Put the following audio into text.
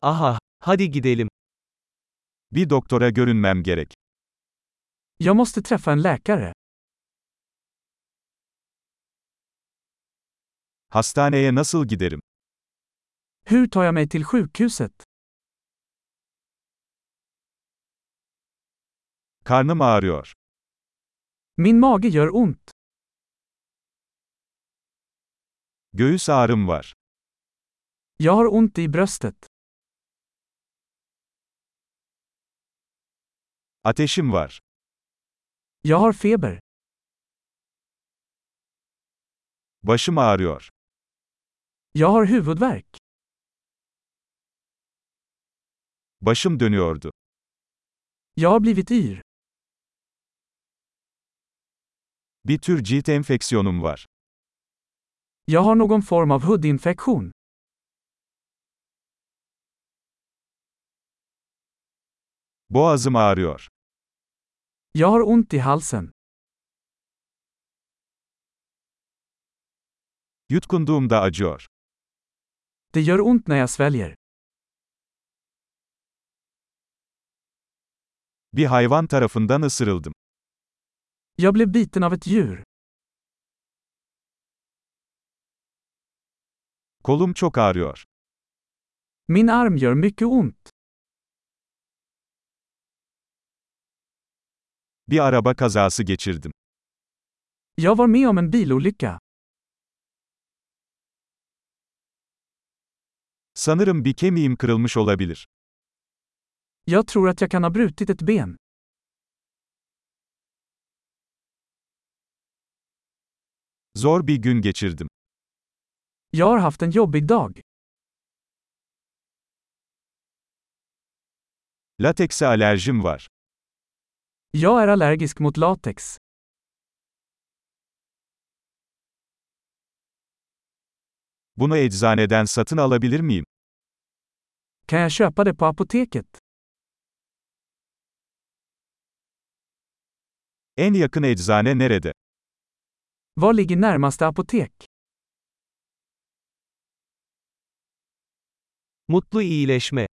Aha, hadi gidelim. Bir doktora görünmem gerek. Jag måste träffa en läkare. Hastaneye nasıl giderim? Hur tar jag mig till sjukhuset? Karnım ağrıyor. Min mage gör ont. Göğüs ağrım var. Jag har ont i bröstet. Ateşim var. Jag har feber. Başım ağrıyor. Jag har huvudvärk. Başım dönüyordu. Jag har blivit yr. Bir tür cilt enfeksiyonum var. Jag har någon form av hudinfektion. Boğazım ağrıyor. Jag har ont i halsen. Yutkunduğumda acıyor. Det gör ont när jag sväljer. Bir hayvan tarafından ısırıldım. Jag blev biten av ett djur. Kolum çok ağrıyor. Min arm gör mycket ont. Bir araba kazası geçirdim. Jag var med om en bilolycka. Sanırım bir kemiğim kırılmış olabilir. Jag tror att jag kan ha brutit ett ben. Zor bir gün geçirdim. Jag har haft en jobbig dag. Latekse alerjim var. Jag är allergisk mot latex. Bunu eczaneden satın alabilir miyim? Kan jag köpa det på apoteket? En yakın eczane nerede? Var ligger närmaste apotek? Mutlu iyileşme.